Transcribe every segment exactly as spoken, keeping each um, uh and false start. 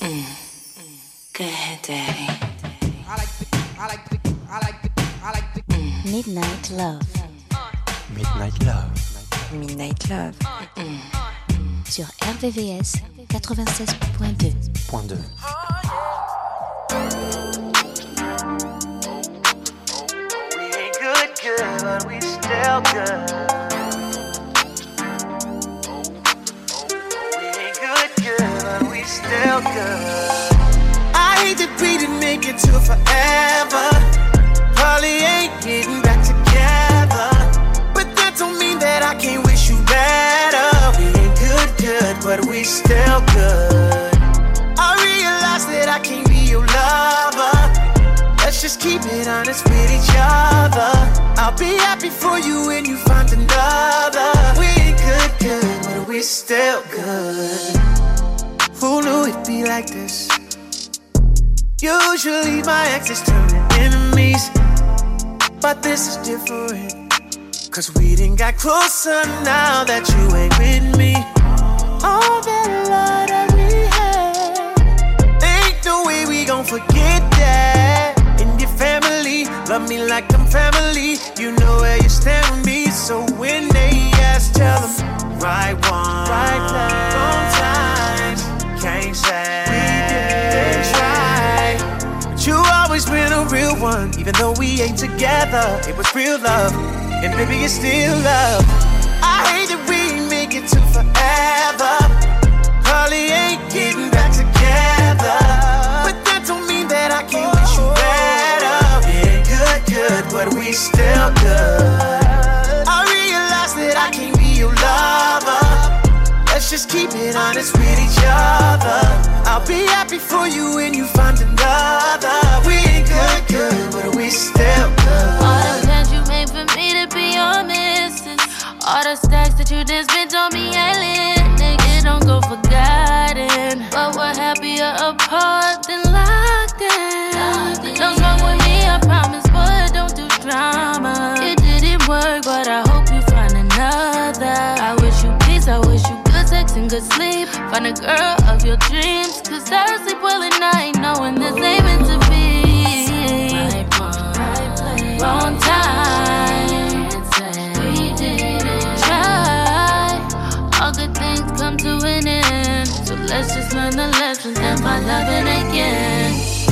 Go ahead, Daddy. I like the, I like the, I like the, I like the Mm. Midnight Love. Midnight Love. Midnight Love. Mm. Sur R V V S quatre-vingt-seize point deux. Point deux. We ain't good, good, but we still good. We ain't good, good, but we still good. I hate that we didn't make it to forever. Probably ain't getting back together, but that don't mean that I can't wish you better. We ain't good, good, but we still good. I realize that I can't be your lover. Let's just keep it honest with each other. I'll be happy for you when you find another. We ain't good, good, but we still good. Who knew it'd be like this? Usually my exes turn to enemies, but this is different. Cause we done got closer now that you ain't with me. All that love that we had, ain't no way we gon' forget that. And your family, love me like I'm family. You know where you stand with me. So when they ask, tell them right one, right place, wrong times. Can't say we didn't try, but you always been a real one. Even though we ain't together, it was real love, and baby it's still love. I hate that we ain't make it to forever. Probably ain't getting back together, but that don't mean that I can't wish you better. We ain't good, good, but we still good. I realize that I can't be your lover. Let's just keep it honest with each other. I'll be happy for you when you find another. We ain't good, good, but we still good. All the plans you made for me to be your missus, all the stacks that you just spent on me ain't lit. Nigga, don't go forgotten, but we're happier apart than locked in. Don't smoke with me, I promise, but don't do drama. It didn't work, but I hope you find another. I wish you peace, I wish you good sex and good sleep. Find a girl of your dreams, cause I sleep well at night knowing this ain't meant to be. Right one, right place, wrong time. We didn't try. All good things come to an end, so let's just learn the lessons and find loving again.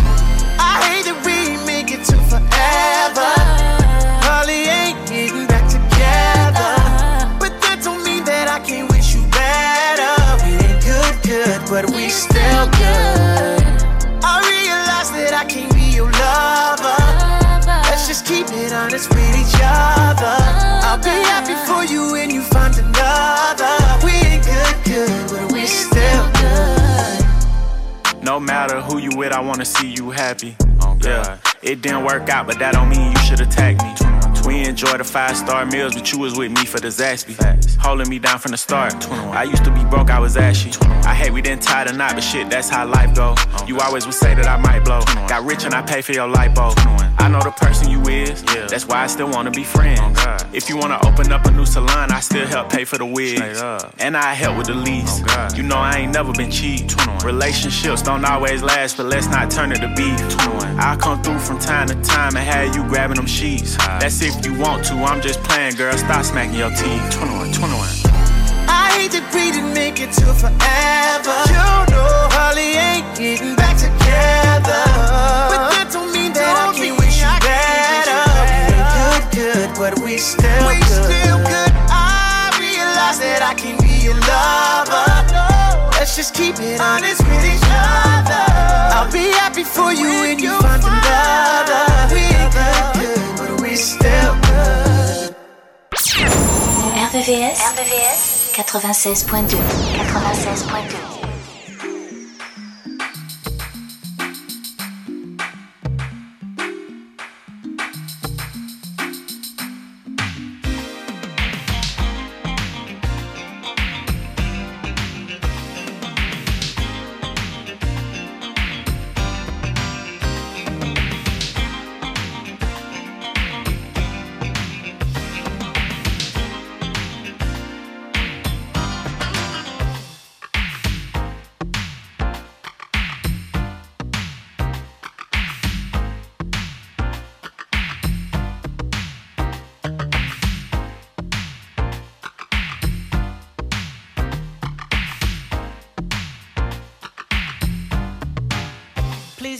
I hate that we ain't make it to forever. Probably ain't getting back together, but that don't mean that I can't wish you better. We ain't good, good, but we still good. I realize that I can't be your lover. Let's just keep it honest with each other. I'll be happy for you when you find another. We ain't good, good, but we still good. No matter who you with, I wanna see you happy. Oh, yeah, it didn't work out, but that don't mean you should attack me. We enjoy the five-star meals, but you was with me for the Zaxby. Holding me down from the start. I used to be broke, I was ashy. I hate we didn't tie the knot, but shit, that's how life go. You always would say that I might blow. Got rich and I pay for your lipo. I know the person you is, that's why I still wanna be friends. If you wanna open up a new salon, I still help pay for the wigs. And I help with the lease. You know I ain't never been cheap. Relationships don't always last, but let's not turn it to beef. I'll come through from time to time and have you grabbing them sheets. That's if you want to, I'm just playing, girl, stop smacking your teeth. twenty-one, twenty-one. I hate that we didn't make it to forever. You know, probably ain't getting back together, but that don't mean that don't I can't wish you better. We ain't good, good, but we still we good. Still good. I realize that I can't be your lover. Let's just keep it honest with each other. I'll be happy for you when you find another. We ain't good, good, but we still good. R V V S, R V V S quatre-vingt-seize point deux. quatre-vingt-seize point deux.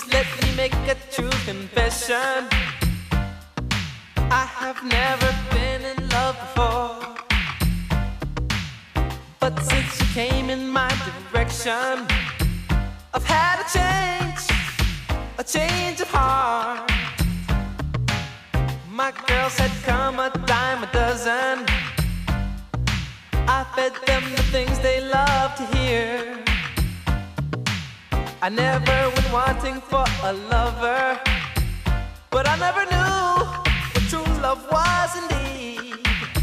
Please let me make a true confession. I have never been in love before, but since you came in my direction, I've had a change, a change of heart. My girls had come a dime a dozen. I fed them the things they love to hear. I never went wanting for a lover, but I never knew what true love was indeed.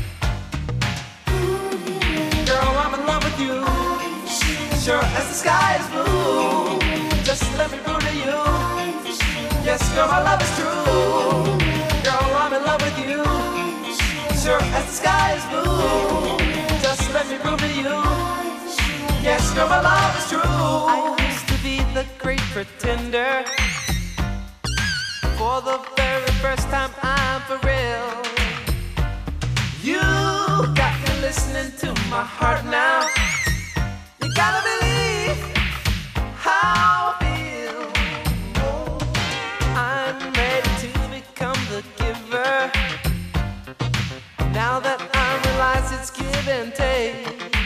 Girl, I'm in love with you, sure as the sky is blue. Just let me prove to you, yes, girl, my love is true. Girl, I'm in love with you, sure as the sky is blue. Just let me prove to you, yes, girl, my love is true. I used to be the great pretender. For the very first time, I'm for real. You got me listening to my heart now. You gotta believe how I feel. I'm ready to become the giver. Now that I realize it's give and take.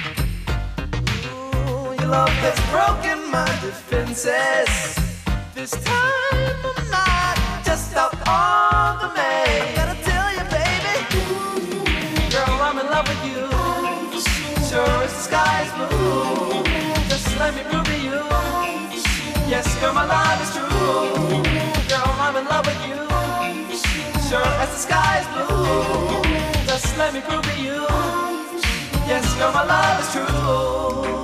Ooh, your love has broken my defenses. This time I'm not just out on the main. I gotta tell you, baby, girl, I'm in love with you. Sure as the sky's blue. Just let me prove to you, yes, girl, my love is true. Girl, I'm in love with you. Sure as the sky's blue. Just let me prove to you, yes, girl, my love is true.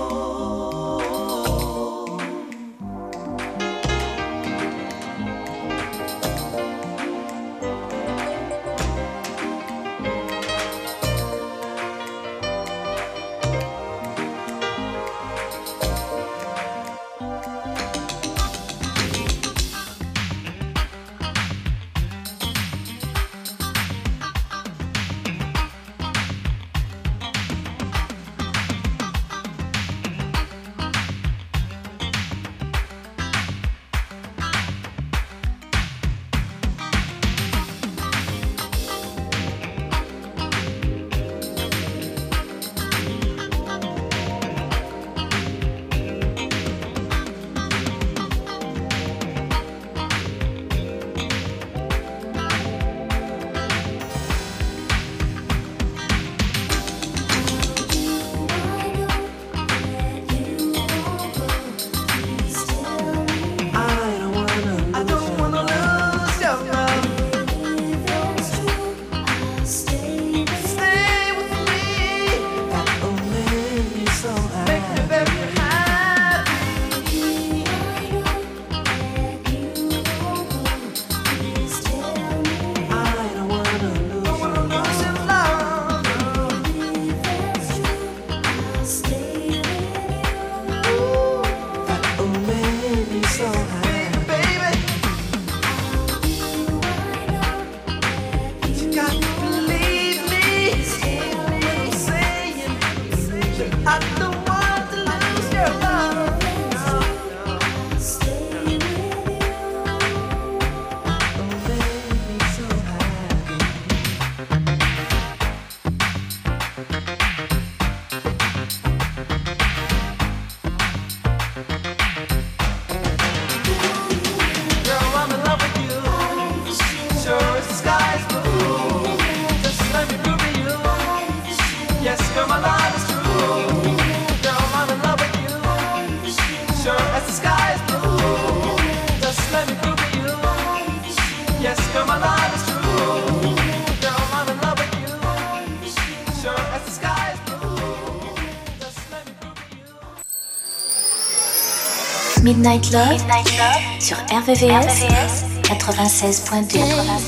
Midnight Love, Midnight Love sur R V V S quatre-vingt-seize point deux.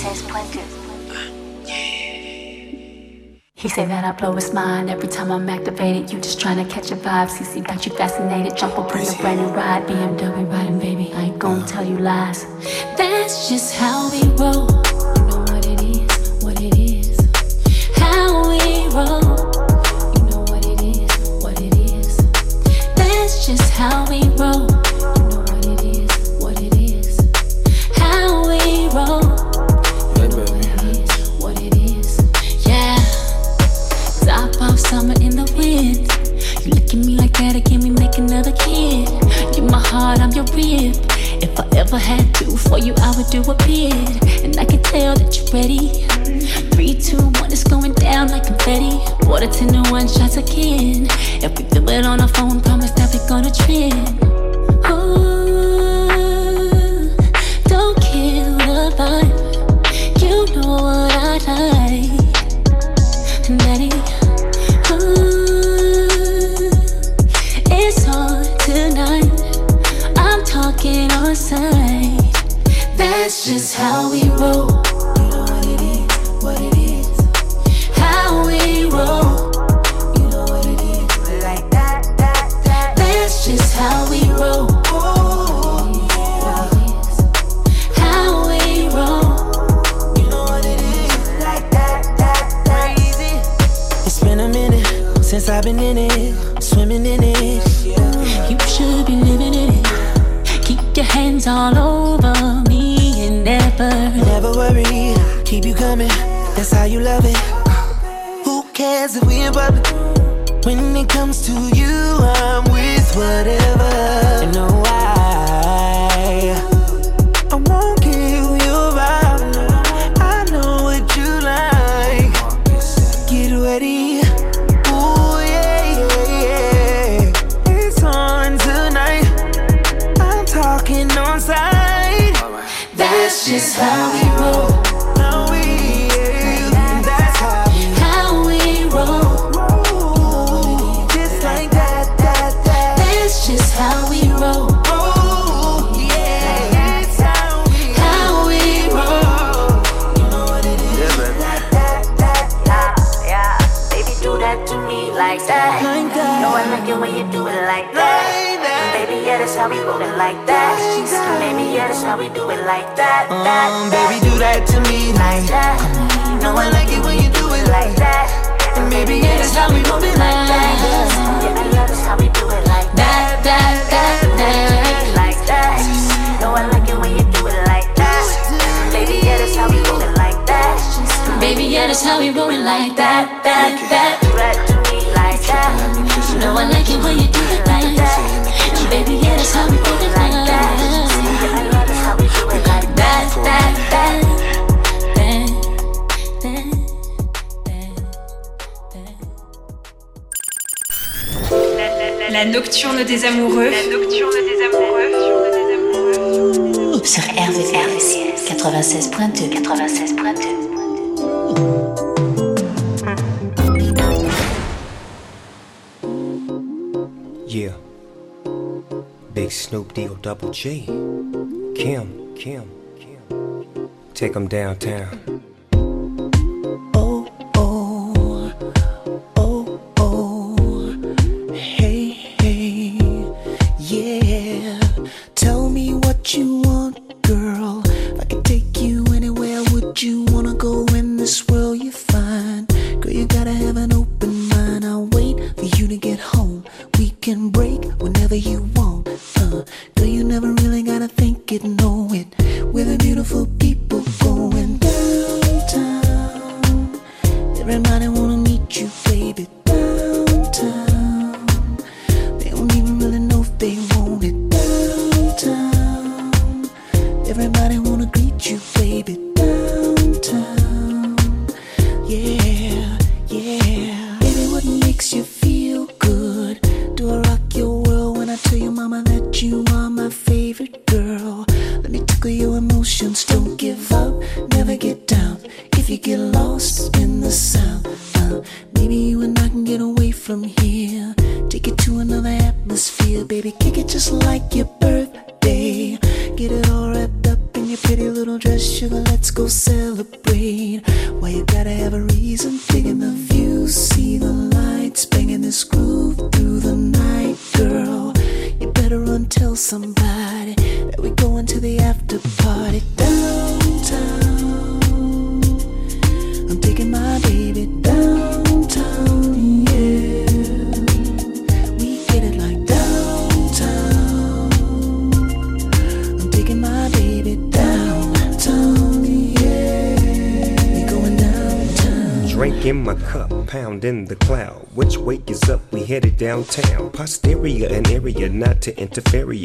He say that I blow his mind every time I'm activated. You just tryna catch a vibe. C C got you fascinated. Jump up in a brand new ride. B M W riding, baby. I ain't gon' tell you lies. That's just how we roll. You know what it is, what it is. How we roll. You know what it is, what it is. That's just how we roll. You know what it is, what it is. heart, I'm your rib. If I ever had to, for you I would do a bid. And I can tell that you're ready. Three, two, one, it's going down like confetti. Water ten to one shots again. If we feel it on our phone, promise that we're gonna trend. Ooh, don't kill the vibe. You know what I like, Daddy. Ooh, it's on tonight. I'm talking on sight. That's just how we roll. You know what it is, what it is. How we roll. You know what it is, like that, that, that. That's just how we roll. How we roll. You know what it is, like that, that, that. Crazy. It's been a minute since I've been in it, swimming in it. You should be living in it. Keep your hands all over me and never, never worry, keep you coming. That's how you love it. Who cares if we in public? When it comes to you, I'm with whatever. And know why I won't kill your vibe. I know what you like. Get ready. Ooh, yeah, yeah, yeah. It's on tonight. I'm talking on side. that's just how we roll. How we, yeah, that's how we, How we roll. just like that, that, that. That's just how we roll. Oh, yeah, it's how we, How we roll. you know what it is. That, that, that, that. Yeah, baby, do that to me like that. Like that. Know I like it when you do it like that. Like that. Baby, yeah, that's how we roll it like that. Baby, yeah, that's how we do it like that. that, Um, that. baby, do that to me like that. know I like it when you do it like that. And baby, yeah, that's how we move it like that. Yeah, yeah, that's how we do it like that. That, that, that, like that. Know I like it when you do it like that. Baby, yeah, that's how we roll it like that. Baby, yeah, that's how we roll it like that. That, that, do that to me like that. Know I like it when you do it like that. Baby, yeah, that's how we roll it like that. Yeah, that's how we do it like that. That, that, that, that, that. La nocturne des amoureux. La nocturne des amoureux. Sur R V V S quatre-vingt-seize point deux. quatre-vingt-seize point deux. Yeah. Big Snoop D O Double G. Kim, Kim, Kim. Take 'em downtown. Oh, oh, oh, oh, hey, hey, yeah. Tell me what you want, girl. If I could take you anywhere, would you wanna go in this world you find? Girl, you gotta have an open mind. I'll wait for you to get home. We can break whenever you want. Uh, girl, you never really gotta think it, know it. We're the beautiful people going downtown. Everybody wanna meet you, baby, downtown. They don't even really know if they want it, downtown. Everybody wanna greet you, baby, downtown. Yeah, yeah. Baby, what makes you feel good? Do I rock your world when I tell your mama that you are my favorite girl? Let me tickle your emotions, don't give up, never get down. If you get lost in the sound, uh, maybe you and I can get away from here. Take it to another atmosphere, baby, kick it just like your birthday. Get it all wrapped up in your pretty little dress, sugar, let's go celebrate. Why you gotta have a reason, digging the view, see the lights, banging this groove through the night, girl. You better run, tell somebody that we going to the after party downtown. I'm taking my baby downtown, yeah. We get it like downtown. I'm taking my baby downtown, yeah. We going downtown. Drink in my cup, pound in the cloud. Which way is up? We headed downtown. Posterior, an area not to interfere.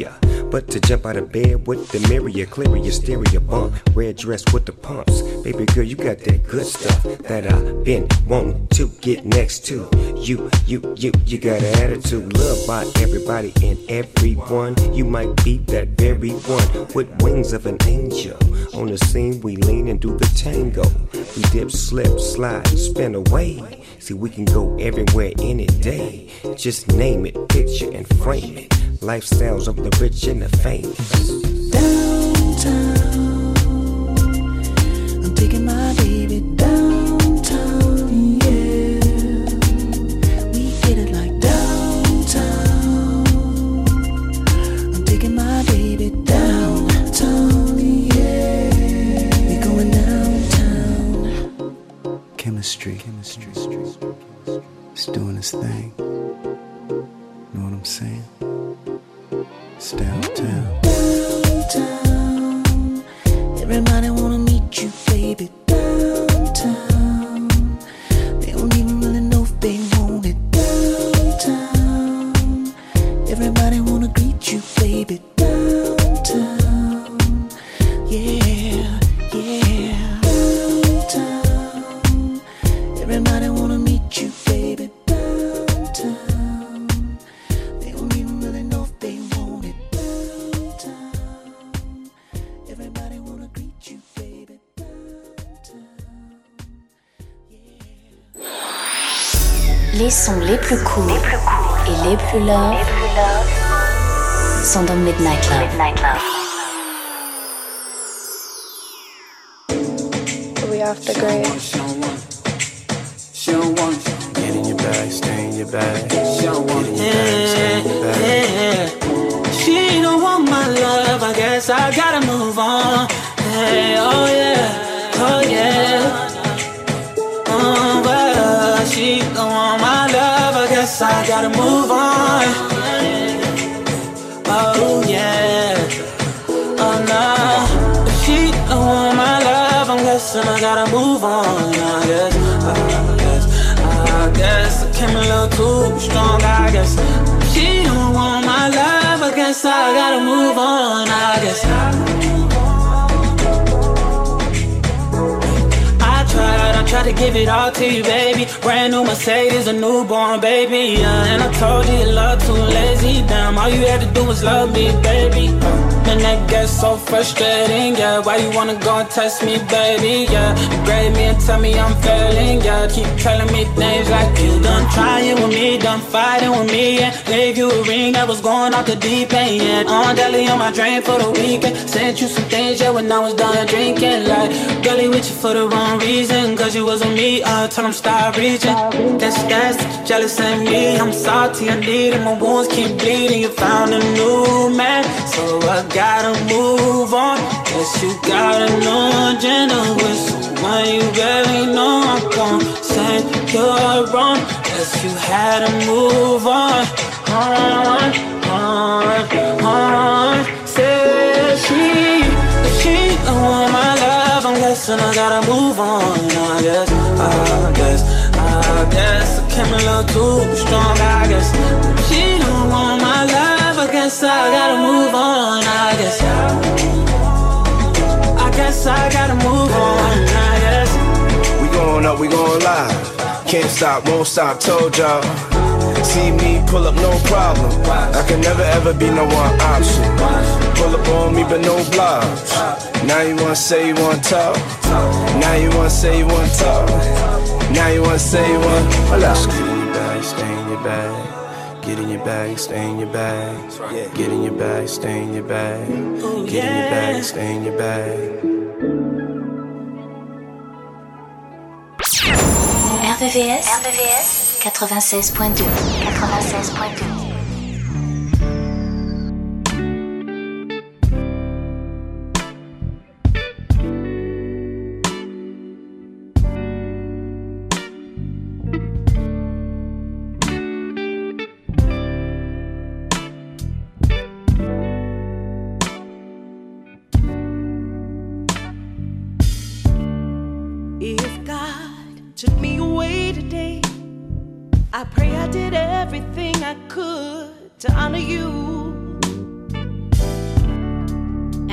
but to jump out of bed with the mirror, clear your stereo bump. Red dress with the pumps. Baby girl, you got that good stuff that I've been wanting to get next to. You, you, you, you got an attitude. Loved by everybody and everyone. You might be that very one with wings of an angel. On the scene, we lean and do the tango. We dip, slip, slide, spin away. See, we can go everywhere any day. Just name it, picture and frame it. Lifestyles of the rich and the famous. Downtown, I'm taking my baby downtown, yeah. We get it like downtown. I'm taking my baby downtown, yeah. We going downtown. Chemistry, chemistry, it's doing its thing. Know what I'm saying? It's downtown. Downtown. Everybody wanna meet you, baby. Downtown. They don't even really know if they want it. Downtown. Everybody wanna greet you, baby. Downtown. Yeah, yeah. Downtown. Everybody wanna meet you, baby. Downtown. They don't even really know if they want it. Downtown. Everybody wanna greet you, baby. Downtown. Yeah. Les sons les plus cool, les plus cool et les plus love, les plus love sont dans Midnight Love. Midnight Love. We off the grid. She don't want it. Get in your bag, stay in your bag. She don't want it. Yeah, yeah. She don't want my love, I guess I gotta move on. Hey, oh yeah, oh yeah. Oh, well, she don't want my love, I guess I gotta move on. Oh yeah, oh no. If she don't want my love, I'm guessing I gotta move on. I guess, I guess, I guess I came a little too strong, I guess. If she don't want my love, I guess I gotta move on, I guess. I tried, I tried to give it all to you, baby. Brand new Mercedes, a newborn baby, yeah. And I told you your love too lazy, damn. All you had to do was love me, baby. And that gets so frustrating, yeah. Why you wanna go and test me, baby, yeah. You grade me and tell me I'm failing, yeah. Keep telling me things like you done trying with me, done fighting with me, yeah. Gave you a ring that was going off the deep end, yeah. On deli on my drain for the weekend. Sent you some things, yeah, when I was done drinking. Like, girlie with you for the wrong reason, cause you was with me, uh, tell them stop reaching. That's, that's, jealous of me, I'm salty, I need it. My wounds keep bleeding, you found a new man, so I gotta move on. Guess you got a new agenda with someone you barely know. I'm gon' say you're wrong. Guess you had to move on. On, on, on. Say she, if she don't want my love, I'm guessing I gotta move on. I guess, I guess, I guess I came a little too strong. I guess if she don't want my love, I guess I gotta move on. I guess, I guess I gotta move on. I guess we going up, we going live. Can't stop, won't stop, told y'all. See me pull up, no problem. I can never ever be no one option. Pull up on me, but no blobs. Now you wanna say you wanna talk. Now you wanna say you wanna talk. Now you wanna say you wanna. Get in your bag, stay in your bag. Get in your bag, stay in your bag. Get in your bag, stay in your bag. Get in your bag, stay in your bag. R V V S, R V V S quatre-vingt-seize point deux. quatre-vingt-seize point deux. If God took me away today, I pray I did everything I could to honor you.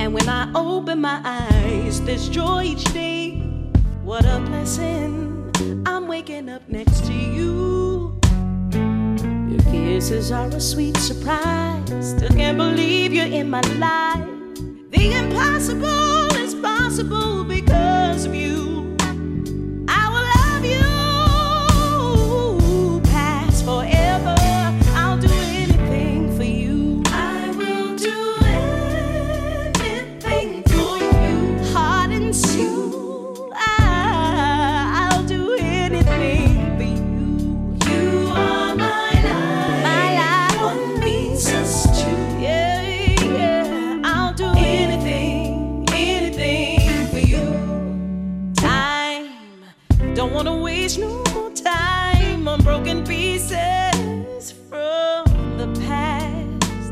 And when I open my eyes, there's joy each day. What a blessing, I'm waking up next to you. Your kisses are a sweet surprise. Still can't believe you're in my life. The impossible is possible because of you. I will love you past forever. I'll do anything for you. I will do anything for you. Heart and soul, I, I'll do anything for you. You are my life. My life. One means us two. Yeah, yeah. I'll do anything, anything for you. Time, don't wanna waste no more time on broken pieces from the past.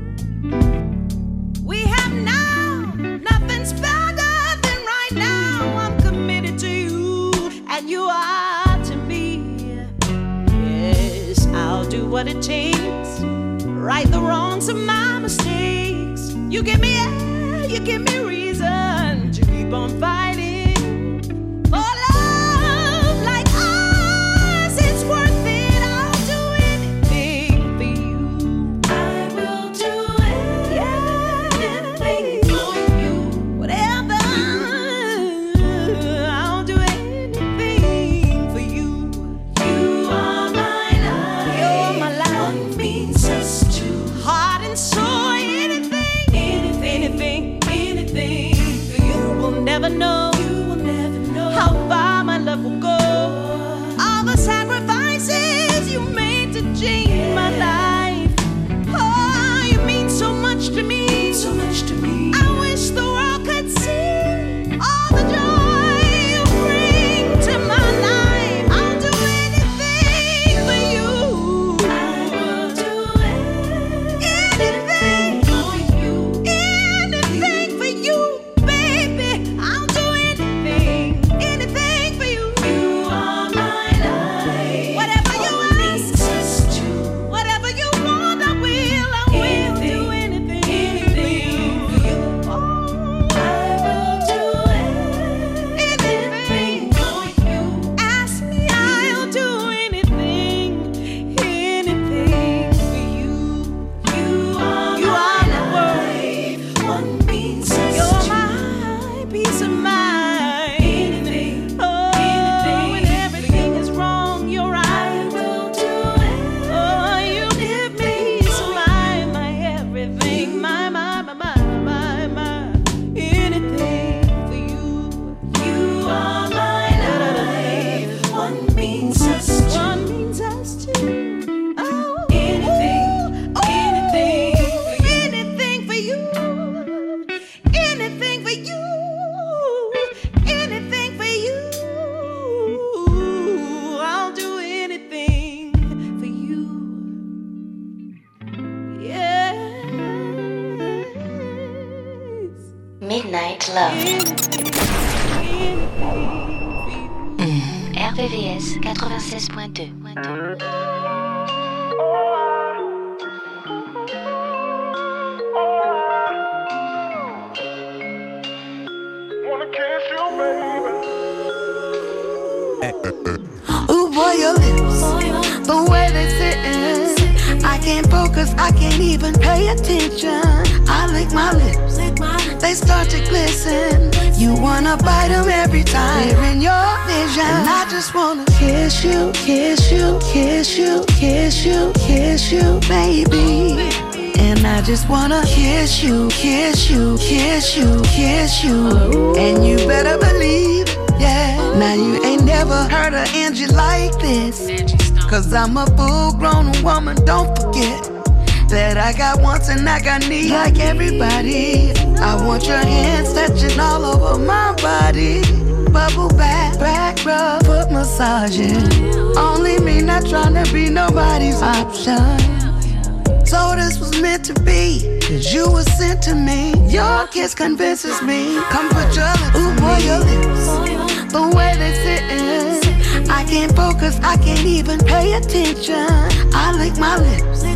We have now, nothing's better than right now. I'm committed to you, and you are to me. Yes, I'll do what it takes, right the wrongs of my mistakes. You give me air, you give me reason to keep on fighting for love like ours. It's worth it. I'll do anything for you. I will do anything for you. Whatever, I'll do anything for you. You are my life. You're my life. One means us two. Heart and soul, anything, anything, anything, anything for you. Will never know, you will never know how far my love will go. All the sacrifices you made to change my life. Oh, you mean so much to me, so much to me. I wish the world could see all the joy you bring to my life. I'll do anything for you. I will do anything for you. Anything for you, baby. I'll do anything, anything for you. You are my life. Whatever you ask, whatever you want, I will, I will do anything, anything for you. Oh, I will do anything for you. Ask me, I'll do anything, anything for you. You are you are the world. One means you're my peace of mind. Anything, oh, when everything is wrong, you're right. I will do it. Oh, you give me peace of mind, my everything, my, my, my, my, my, my, anything for you. You are my life. One means us two. One means us two. Oh, anything, anything, anything for you. Anything for you. Anything for you. I'll do anything for you. Yes. Midnight Love. R V V S quatre-vingt-seize point deux. Ooh boy, your lips, the way they sittin', I can't focus, I can't even pay attention. I lick my lips, they start to glisten. You wanna bite them every time they're in your vision. And I just wanna kiss you, kiss you, kiss you, kiss you, kiss you, baby. And I just wanna kiss you, kiss you, kiss you, kiss you. And you better believe, yeah. Now you ain't never heard an Angie like this. Cause I'm a full-grown woman, don't forget that I got wants and I got needs like everybody. I want your hands touching all over my body. Bubble bath, back rub, foot massaging. Only me, not trying to be nobody's option. So this was meant to be, cause you were sent to me. Your kiss convinces me. Come put your lips Ooh, boy, your lips, the way they sittin', I can't focus, I can't even pay attention. I lick my lips,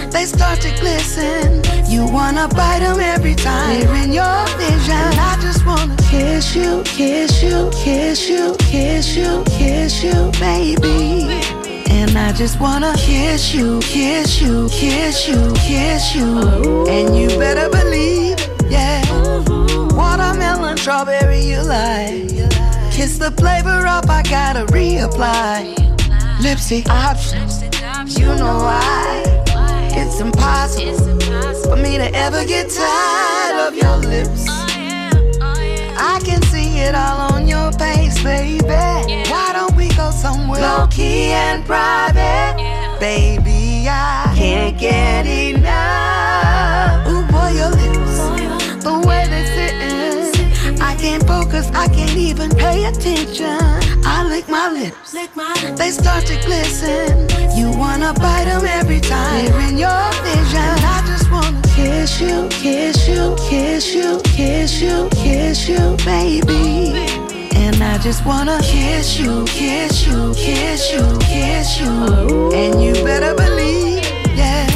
they start to glisten. You wanna bite them every time they're in your vision. And I just wanna kiss you, kiss you, kiss you, kiss you, kiss you, baby. And I just wanna kiss you, kiss you, kiss you, kiss you. And you better believe, yeah. Watermelon, strawberry, you like. Kiss the flavor up, I gotta reapply. Lipstick options, you know why. It's impossible for me to ever get tired of your lips. I can see it all on your face, baby. Why don't we go somewhere low-key and private? Baby, I can't get enough. Ooh, boy, your lips, the way they sittin', I can't focus, I can't even pay attention. I lick my lips, they start to glisten. You wanna bite them every time they're in your vision. I just wanna kiss you, kiss you, kiss you, kiss you, kiss you, baby. And I just wanna kiss you, kiss you, kiss you, kiss you. And you better believe, yeah.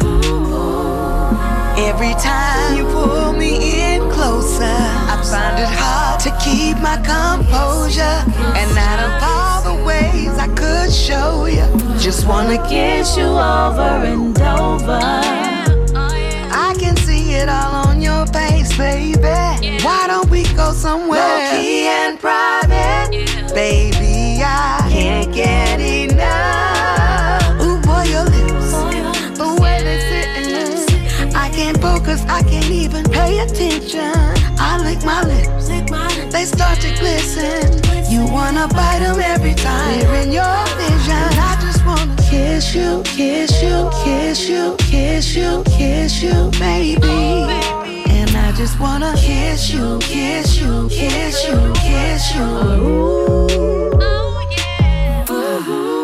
Every time you pull me in closer, I find it hard to keep my composure. And out of all the ways I could show you, just wanna kiss you over and over. I can see it all on your face, baby. Why don't we go somewhere low-key and private? Baby, I can't get enough. Ooh, boy, your lips, the way they sittin', I can't focus, I can't even pay attention. I lick my lips, they start to glisten. You wanna bite them every time they're in your vision. I just wanna kiss you, kiss you, kiss you, kiss you, kiss you, baby. And I just wanna kiss you, kiss you, kiss you, kiss you. Ooh. Oh, yeah. Ooh.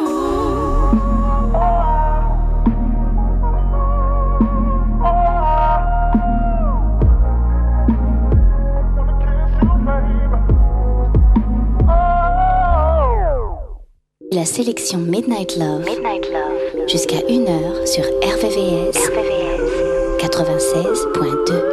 La sélection Midnight Love, Midnight Love. Jusqu'à une heure sur R V V S, R V V S. quatre-vingt-seize point deux.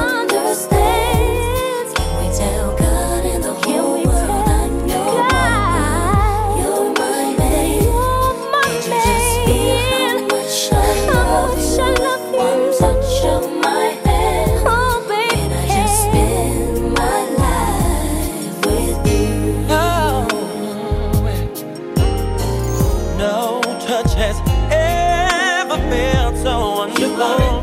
Can we tell God and the whole world I know? has ever felt so wonderful.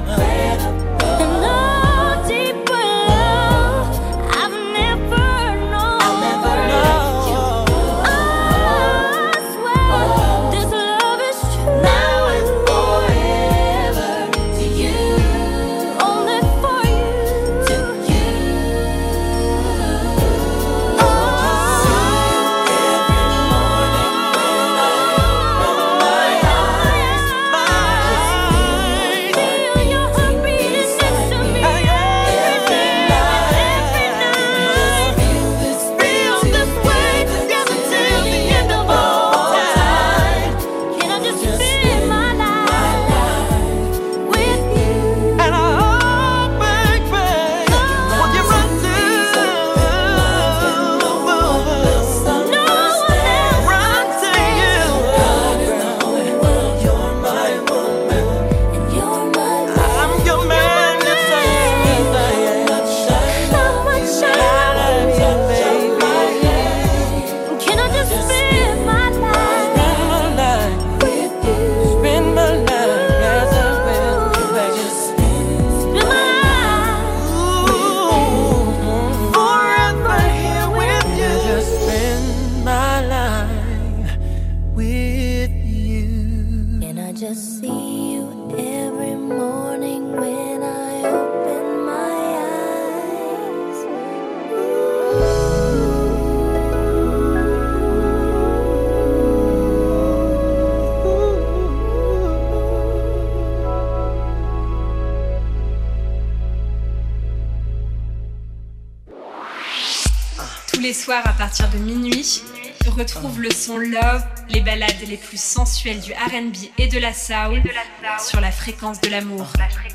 Soir à partir de minuit, retrouve le son Love, les ballades les plus sensuelles du R and B et de la soul sur la fréquence de l'amour.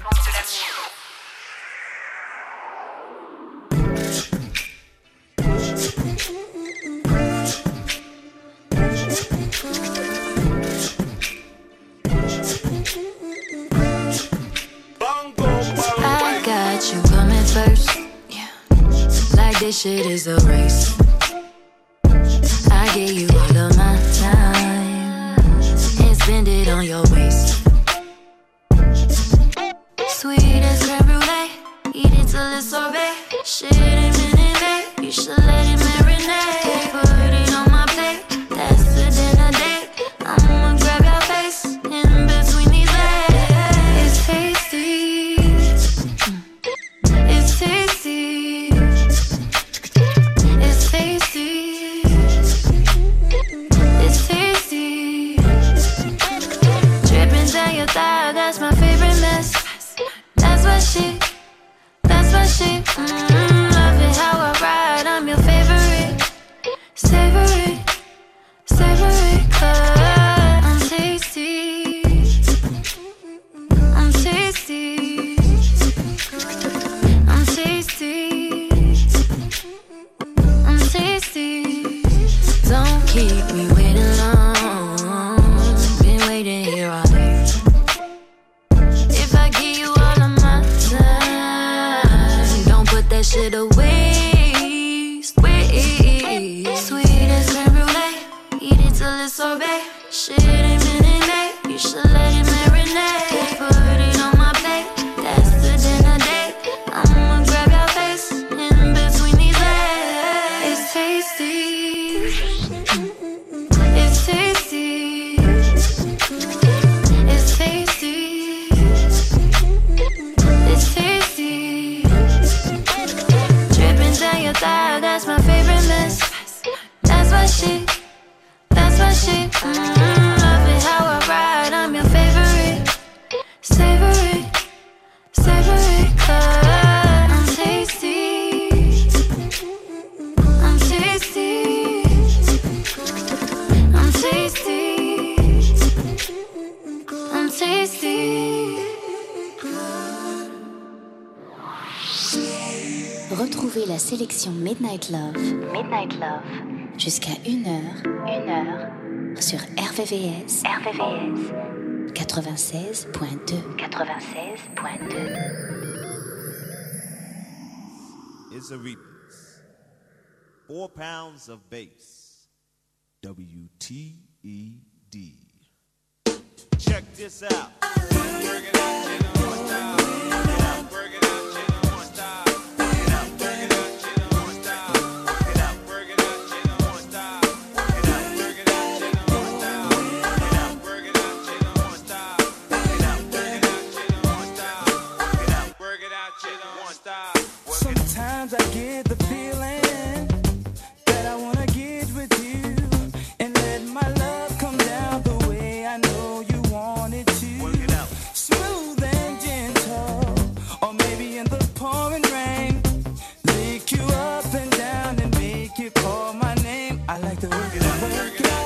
I got you coming first. Like this shit is a race. I give you all of my time and spend it on your waist. Sweet as creme brulee, eat it till it's sorbet. Shit ain't been in bed, you should let it marinate. Put it on my plate, that's the dinner date. I'ma grab your face in between these legs. It's tasty, it's tasty. It's tasty, it's tasty. Dripping down your thigh, that's my favorite mess. That's what she, that's what she. Mm, love it how I ride, I'm your favorite. Savory, savory, cause I'm tasty, I'm tasty, I'm tasty. I'm tasty. Don't keep me waiting long. Been waiting here all day. If I give you all of my time, don't put that shit away. Sweet as creme brulee, eat it till it's sorbet. Shit ain't been in May, you should let it marinate. Put it on my plate, that's the dinner date. I'ma grab your face in between these legs. It's tasty, it's tasty, it's tasty, it's tasty. Dripping down your thigh, that's my favorite mess. That's what she, that's what she. Mm, love it how I ride, I'm your favorite. Savory, savory, cause I'm tasty, I'm tasty, I'm tasty, I'm tasty. Retrouvez la sélection Midnight Love, Midnight Love, jusqu'à une heure, une heure, sur R V V S, R V V S, quatre-vingt-seize point deux, quatre-vingt-seize point deux. It's a remix. Four pounds of bass. W T E D. Check this out. Sometimes I get the feeling that I wanna get with you and let my love come down the way I know you want it to. Work it out. Smooth and gentle, or maybe in the pouring rain. Lick you up and down and make you call my name. I like to work it out. Work it out.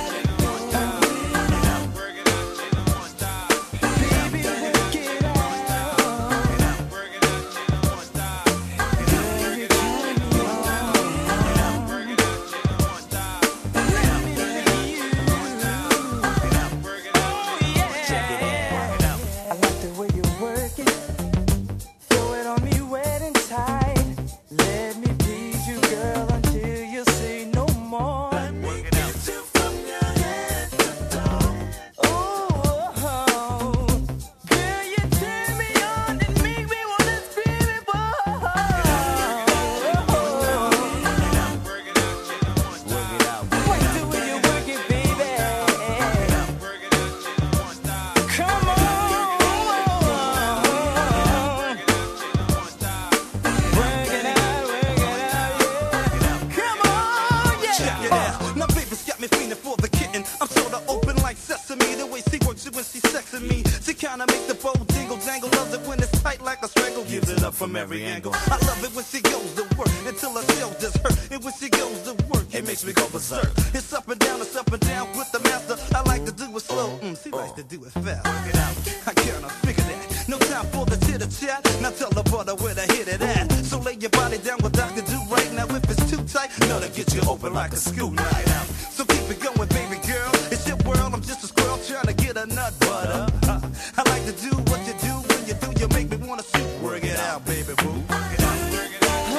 From every angle, I love it when she goes to work until her tail just hurt. And when she goes to work, it makes me go berserk. It's up and down, it's up and down with the master. I like to do it slow, mm, she likes to do it fast. Work it out, I can't figure that. No time for the chitter chat. Now tell the brother where to hit it at. So lay your body down with Doctor Do right now. If it's too tight, no, to get you open like a school night out. So keep it going, baby girl. It's your world, I'm just a squirrel trying to get a nut butter. Uh, I like to do what you do when you do. You make me wanna shoot. Work it out, baby boo. Work it out, work it out.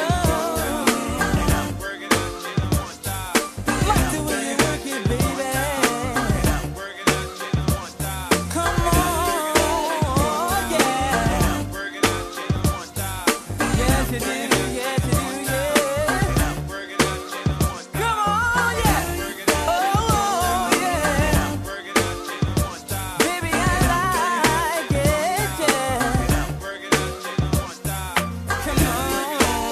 Work it out, you don't want to stop. Like the way you work it, baby. Work it out, work it out, you don't want to stop. Come on, yeah. Work it out, you don't want to stop. Yes, you do, yes, you do, yeah. Work it out, you don't want to stop. Come on, yeah. Work it out, oh, yeah. Work it out, you don't want to stop. Baby, I like it, yeah. Work it out, you don't want to stop. Come on.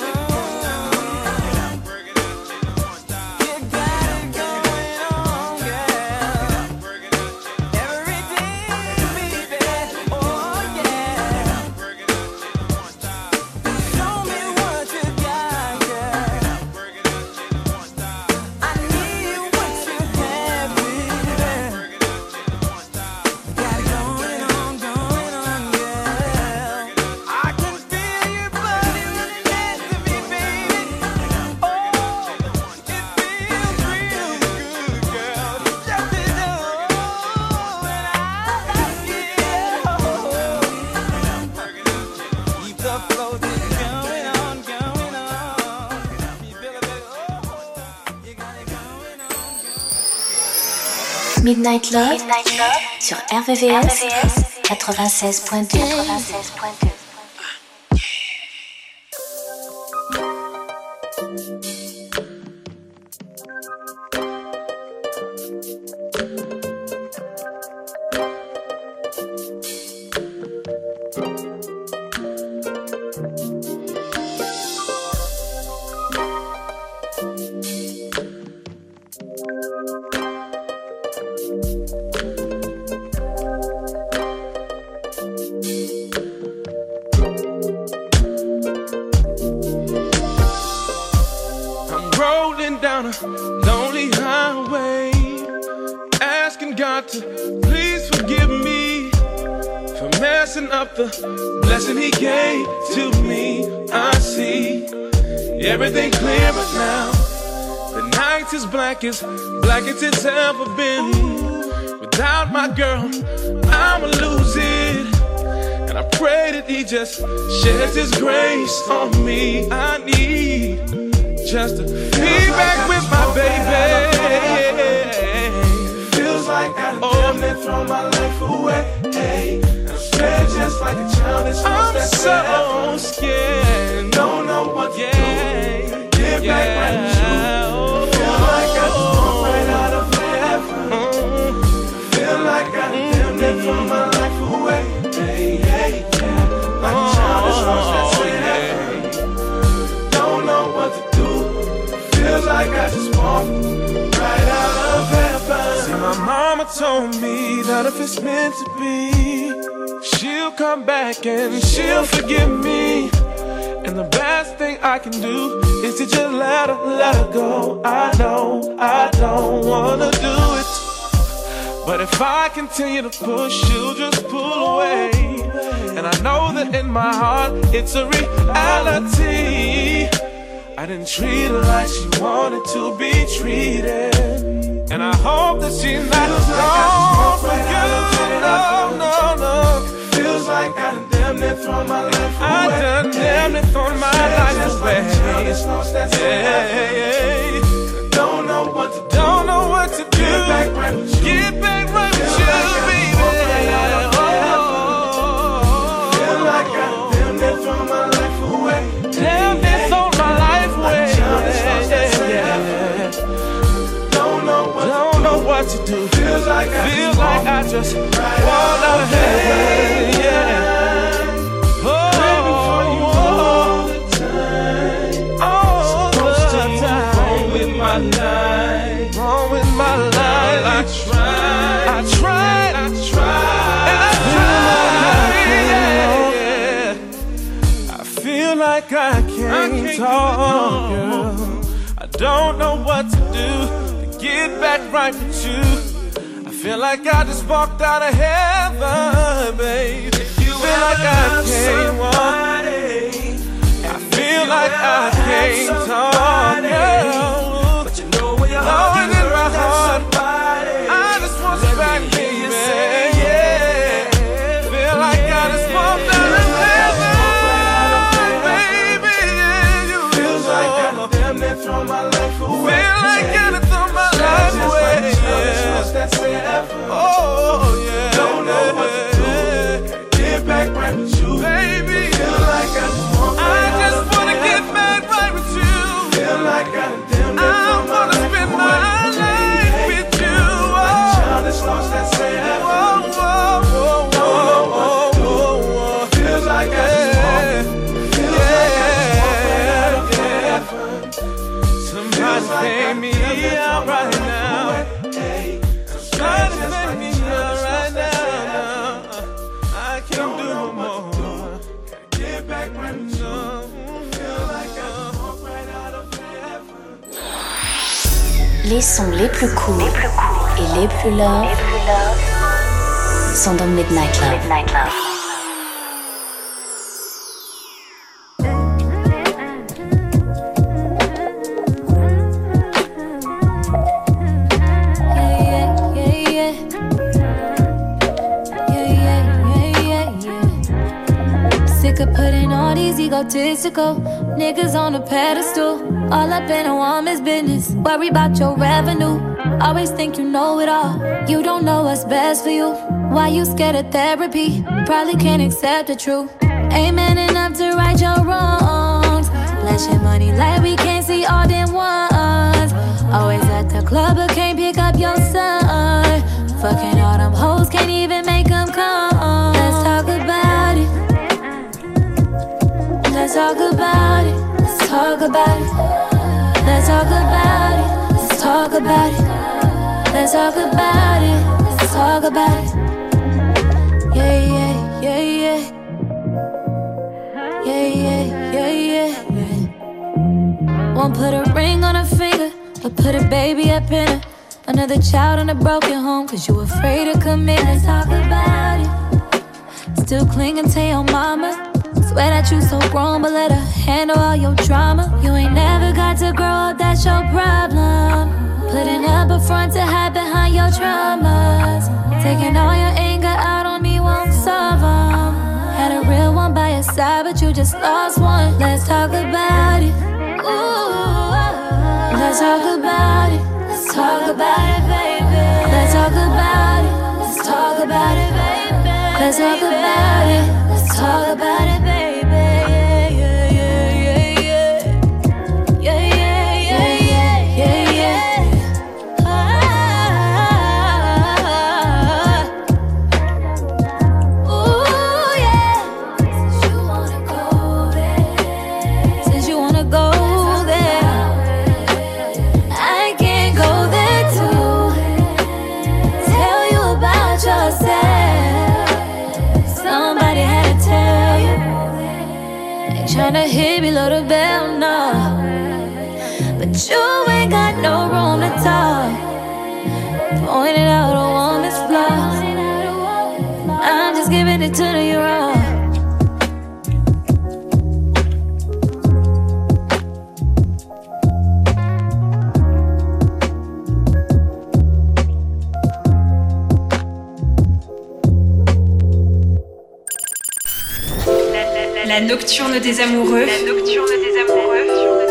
Work it out, you don't want to stop. You got it going on, girl. Work it out, you don't Every day, baby. Oh, yeah. work it out, you don't want to stop. Show me what you got, girl. Work it out, you don't want to stop. I need what you have, baby. Work it out, you don't want to stop. Got it going on, going on, girl. I can feel your body running next to me, baby. Oh, it feels real good, girl. Just to know when I like you. Keep the flow just going on, going on. You feel it, baby? Oh, you got it going on. Midnight Love, sur R V V S quatre-vingt-seize point deux. quatre-vingt-seize point deux. I'm rolling down a lonely highway, asking God to please forgive me for messing up the blessing He gave to me. I see everything clearer now. The night's as black as black as it's ever been. Without my girl, I'ma lose it. And I pray that He just sheds His grace on me. I need just to be back with my baby. Feels like I damn near throw my life away. hey. I'm scared just like a child that's lost that so scared. Don't know what to yeah. do. Get yeah. back right with you. Feel like I just walked right out of heaven. Mm. Feel like I mm. damn near throw my life away. Hey, hey, yeah. Like a child that's lost that same. Don't know what to do. Feels like I just walked right out of heaven. See, my mama told me that if it's meant to be, she'll come back and she'll forgive me. And the best thing I can do is to just let her, let her go. I know I don't wanna do it, but if I continue to push, she'll just pull away. And I know that in my heart it's a reality. I didn't treat her like she wanted to be treated, and I hope that she's not gone for good. No, no, no. Feels like I done damn near thrown my life away. I done damn near thrown my life away. Yeah, yeah. Don't know what to do. Don't know what to do. Get back right with you. Get back right with you, baby. Feel like I done damn near thrown my life away. Damn near thrown my life away. Don't know what don't know what to do. Feels like I feels like I just walked out of heaven. Yeah. Oh, baby, for you all the time. All the time. Wrong with my life. Wrong with my life. I tried. I tried. I tried. And I tried. Yeah. I feel like I can't, I can't talk, girl. I don't know what to do to get back right with you. I feel like I just walked out of heaven, babe. You feel like I can't walk. I feel like I can't talk, girl. But you know where your heart is in my heart. I just want you back, baby. Yeah. Feel like I just walked out of heaven, baby. Yeah, you feels like I damn near throw my life away. Feel like I done throw my life away. Oh, yeah. Don't know what to do. Get back right with you, baby. Feel like I just want I just wanna get back right with you. Feel like I damn near I wanna spend my life with you. Oh, child that's lost that same. Oh, oh, oh, oh, oh, oh. Feels like I just want. Feels like I just want. Somebody pay me out right now. Somebody pay me out right now. I can't do no more. Get back right with you. Feel like I walk right out of heaven. Les sons les plus cool, les plus cool et les plus love, les plus love sont dans Midnight Love. Midnight Love. Egotistical niggas on a pedestal, all up in a woman's business. Worry about your revenue. Always think you know it all. You don't know what's best for you. Why you scared of therapy? Probably can't accept the truth. Ain't man enough to right your wrongs. Flashing money like we can't see all them ones. Always at the club but can't pick up your son. Fucking all them hoes, can't even make them come. Let's talk about it. Let's talk about it. Let's talk about it. Let's talk about it. Let's talk about it. Let's talk about it. Let's talk about it. Yeah, yeah, yeah, yeah. Yeah, yeah, yeah, yeah, yeah. Won't put a ring on her finger, but put a baby up in her. Another child in a broken home, cause you afraid to commit. Let's talk about it. Still clinging to your mama. Swear that you so grown, but let her handle all your drama. You ain't never got to grow up, that's your problem. Putting up a front to hide behind your traumas. Taking all your anger out on me won't solve them. Had a real one by your side, but you just lost one. Let's talk about it. Ooh, let's talk about it. Let's talk about it, baby. Let's talk about it. Let's talk about it, baby. Let's talk about it. Let's talk about it, baby. Tryna hit below the bell, no. But you ain't got no room to talk. Pointing out a woman's flaws. I'm just giving it to you raw. La nocturne des amoureux. La nocturne des amoureux.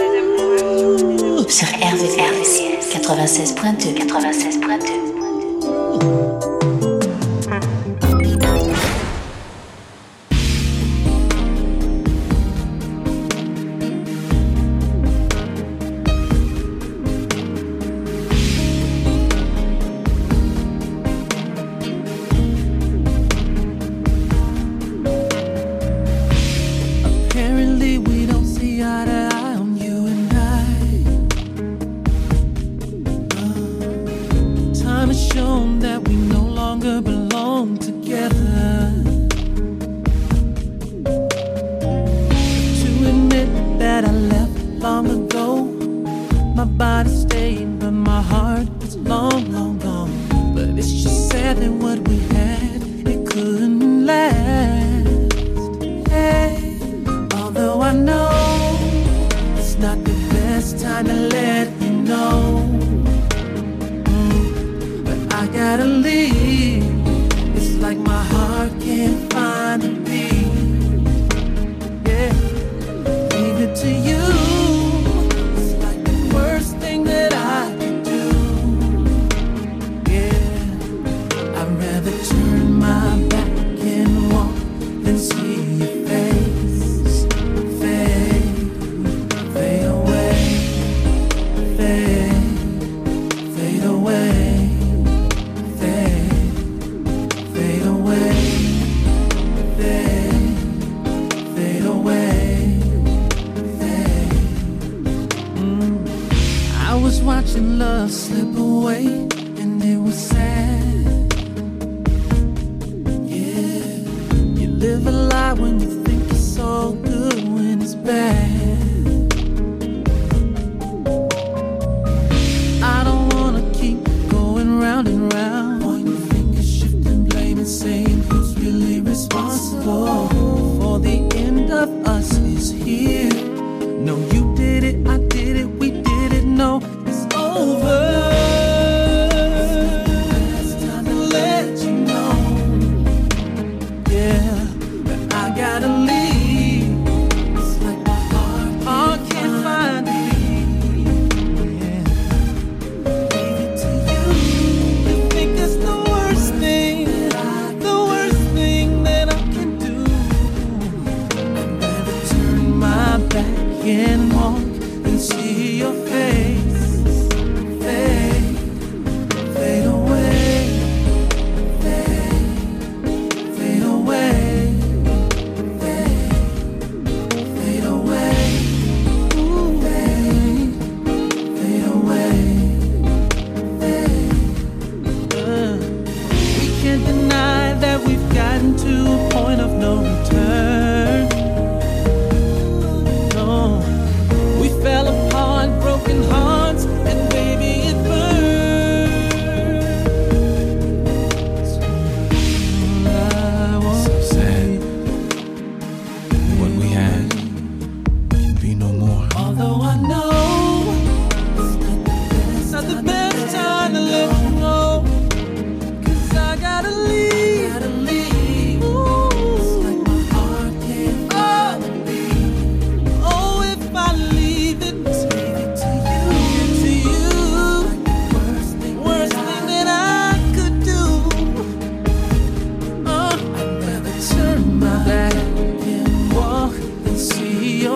Sur R V V S quatre-vingt-seize point deux. quatre-vingt-seize point deux. My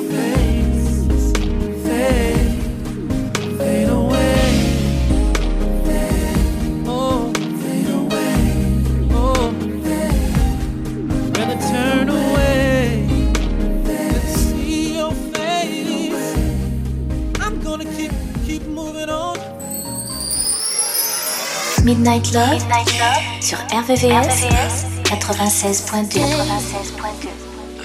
face fade, fade away. Oh, fade away. Oh, rather turn away than see your face. I'm gonna keep, keep moving on. Midnight Love, Midnight Love sur R V V S quatre-vingt-seize point deux. quatre-vingt-seize point deux.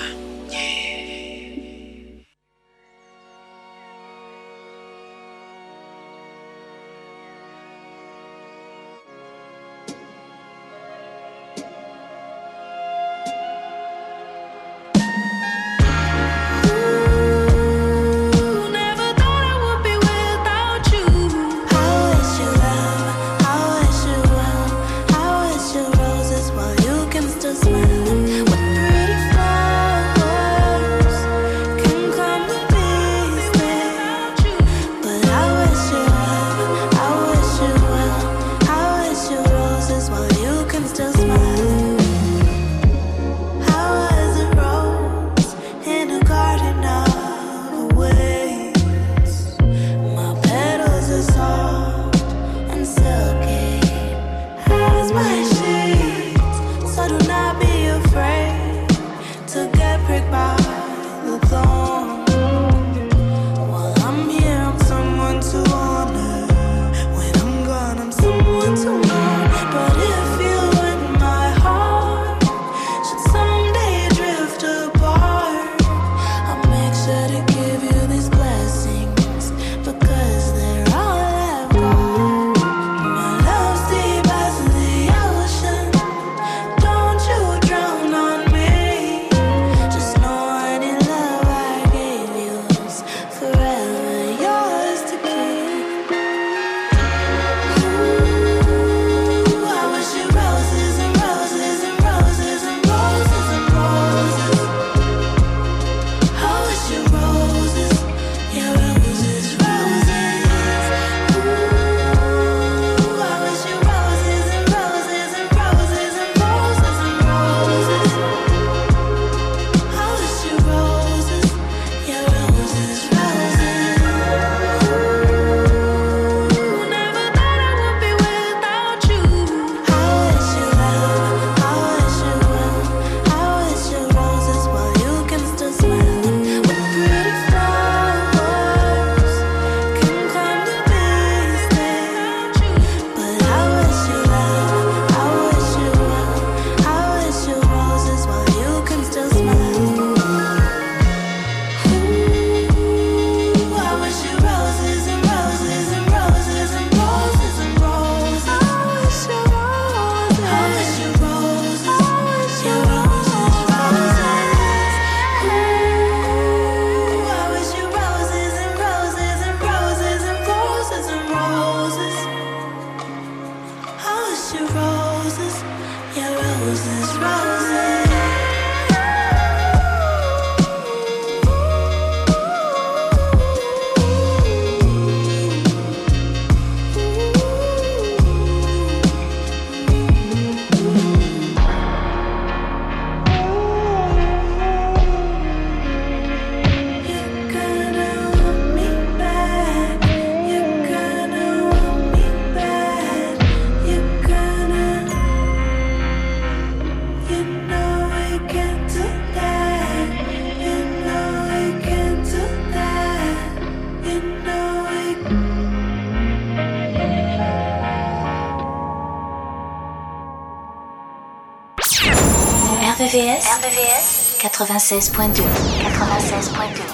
R V V S, R V V S quatre-vingt-seize point deux. quatre-vingt-seize point deux.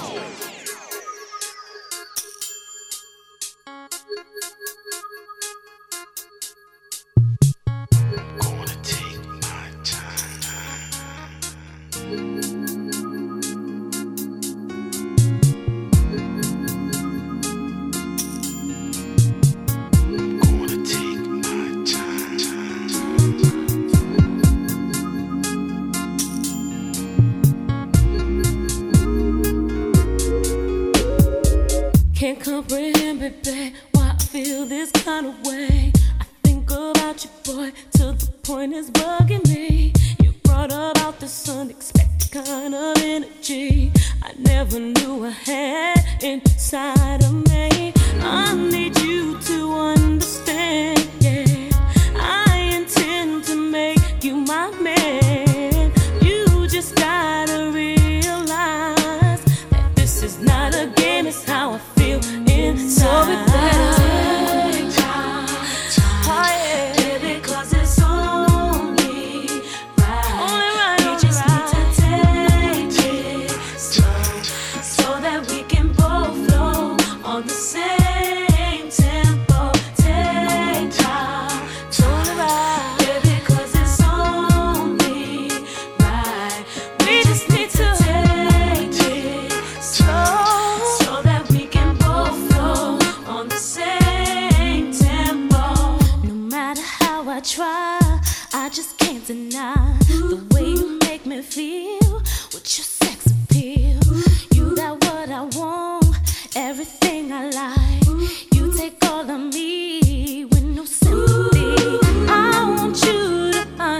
Can't comprehend, baby, why I feel this kind of way. I think about you, boy, to the point it's bugging me. You brought about this unexpected kind of energy I never never knew I had inside of me. I need you to understand, yeah. I intend to make you my man. You just gotta realize that this is not a game, it's how I feel inside. So we better take time, time, oh, yeah. Baby, 'cause it's only right. Only right, we just right. need to take it slow, so that we can both flow on the same tempo. Take time, totally right. Baby, 'cause it's only right. We just need to take it slow, so that we can both flow on the same tempo. No matter how I try, I just can't deny the way you make me feel with your sex appeal. You got what I want, everything I like. You take all of me with no sympathy. I want you to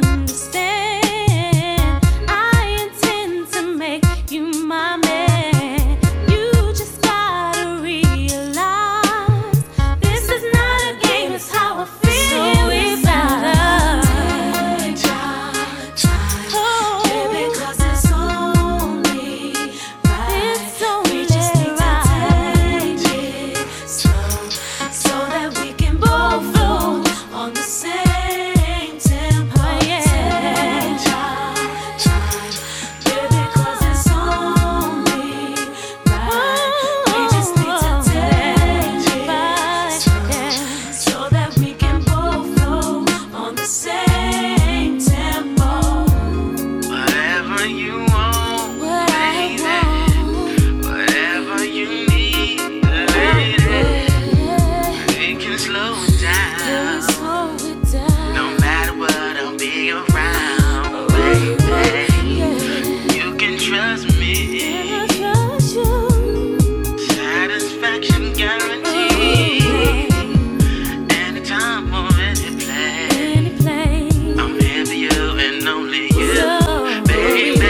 understand, I intend to make you my man. You just gotta realize this is not a game, it's how I feel. So we better take time, time, oh, baby, 'cause it's only right. It's only we just need right. to take it slow, so that we can both flow on the same tempo. Oh, yeah. Take time, time, baby, 'cause it's only right. We just need to take it slow, so that we can both flow on the same tempo. Whatever you want, baby. Whatever you need, lady. We can slow it down. No matter what, I'll be around, baby. You can trust me. Satisfaction guaranteed. Anytime or any place, I'm here for you and only you, baby.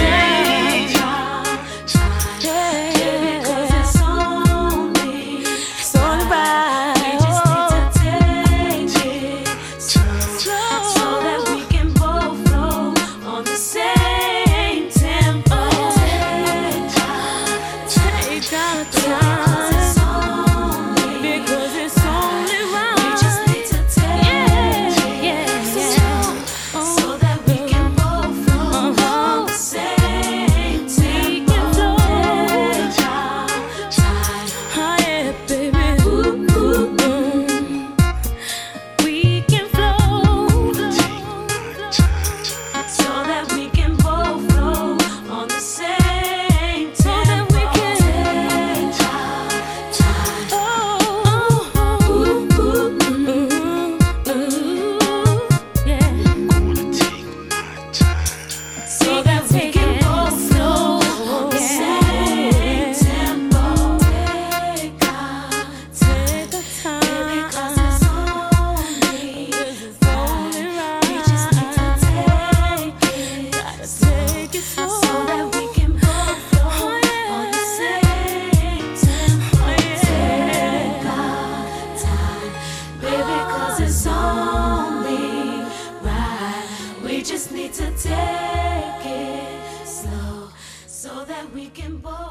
Baby, 'cause it's only it's only right. We just need to take it slow, so that we can both flow on the same tempo. Take time, take our time, because it's only right. We just need to take it slow, so that we can both flow on the same tempo. Take time, time, oh yeah, baby. Ooh, ooh, ooh. We can flow, so that we can both flow on the same tempo. So that we can take time, time, oh, ooh, ooh, ooh, ooh, yeah. So that we can both flow on the same tempo. Take our, take our time, baby, 'cause it's only right. We just need to take it, gotta take it slow, so that we can both flow on the same tempo. Take our time, baby, 'cause it's only right. We just need to take it slow, so that we can both